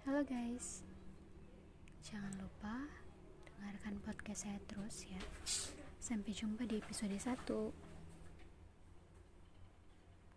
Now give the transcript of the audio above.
Halo guys, jangan lupa dengarkan podcast saya terus ya. Sampai jumpa di episode 1.